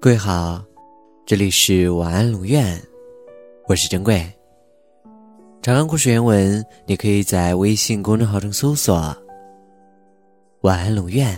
各位好，这里是晚安龙院，我是珍贵。长安故事原文你可以在微信公众号中搜索晚安龙院，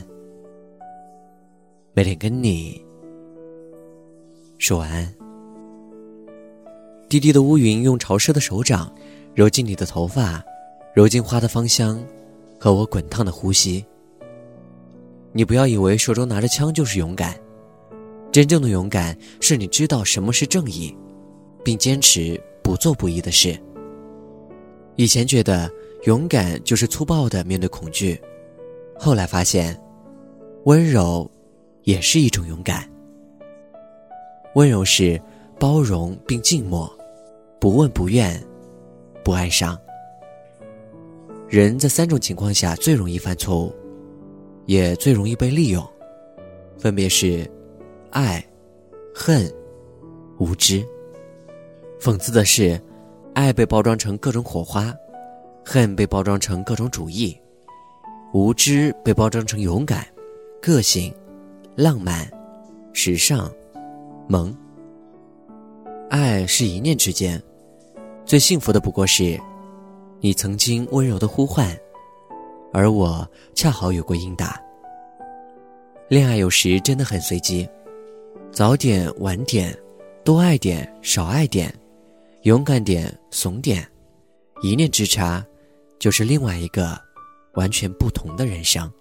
每天跟你说晚安。低低的乌云用潮湿的手掌揉进你的头发，揉进花的芳香和我滚烫的呼吸。你不要以为手中拿着枪就是勇敢，真正的勇敢是你知道什么是正义，并坚持不做不义的事。以前觉得勇敢就是粗暴地面对恐惧，后来发现温柔也是一种勇敢。温柔是包容并静默，不问不怨，不哀伤。人在3种情况下最容易犯错误，也最容易被利用，分别是爱、恨、无知。讽刺的是，爱被包装成各种火花，恨被包装成各种主义，无知被包装成勇敢、个性、浪漫、时尚、萌。爱是一念之间，最幸福的不过是你曾经温柔的呼唤，而我恰好有过应答。恋爱有时真的很随机，早点晚点，多爱点少爱点，勇敢点怂点，一念之差就是另外一个完全不同的人生。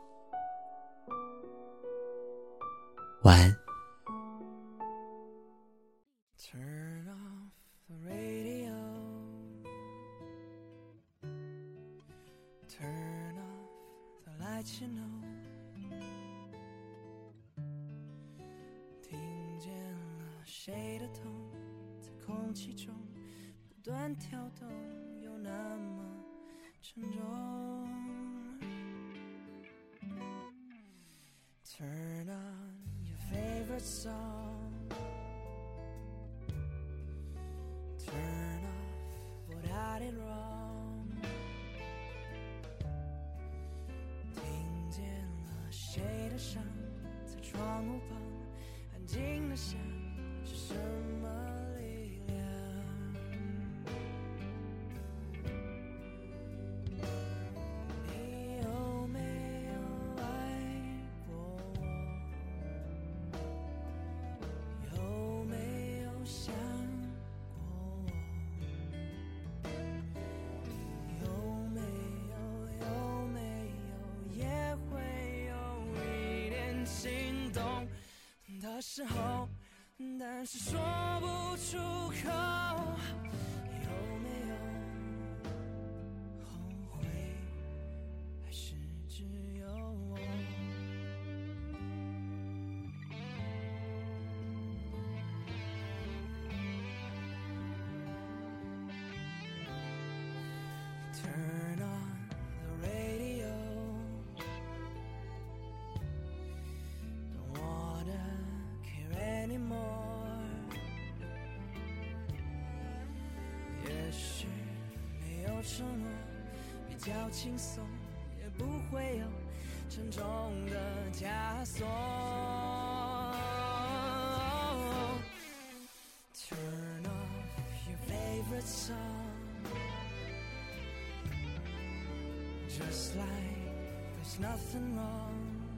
晚安。 Turn off the radio. Turn off the lights, you know. 听见了谁的痛，在空气中不断跳动，又那么沉重。Turn on your favorite song.Turn off what I did wrong. 听见了谁的伤，在窗户旁安静的想，是什么力量？你有没有爱过我？有没有想的时候，但是说不出口，有没有后悔，还是只有我？Turn on the radio.Anymore， 也许没有承诺比较轻松，也不会有沉重的枷锁。Turn off your favorite song, just like there's nothing wrong.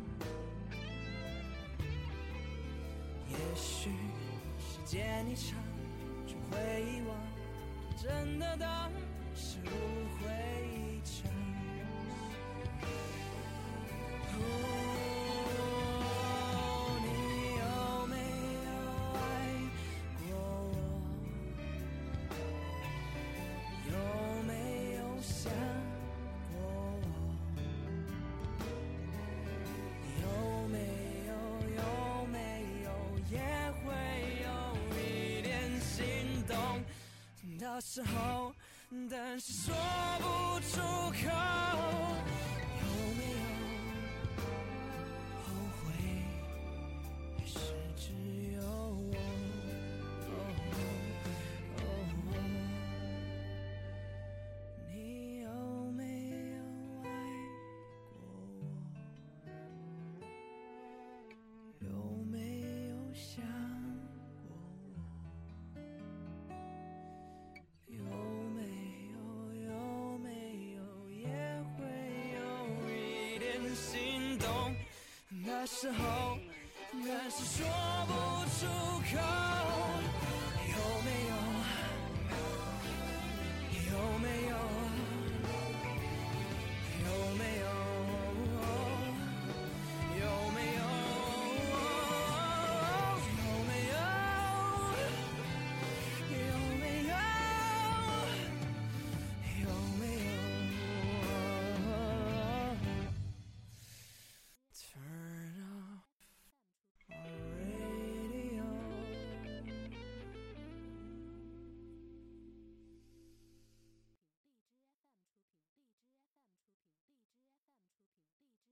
也许时间一长就会遗忘，真的当是误会一场。你有没有爱过我？有没有想过我？有没有也会有一点心动的时候，但是说不出口，有没有后悔，还是只有我？你有没有爱过我？有没有想的时候，但是说不出口。有没有？有没有？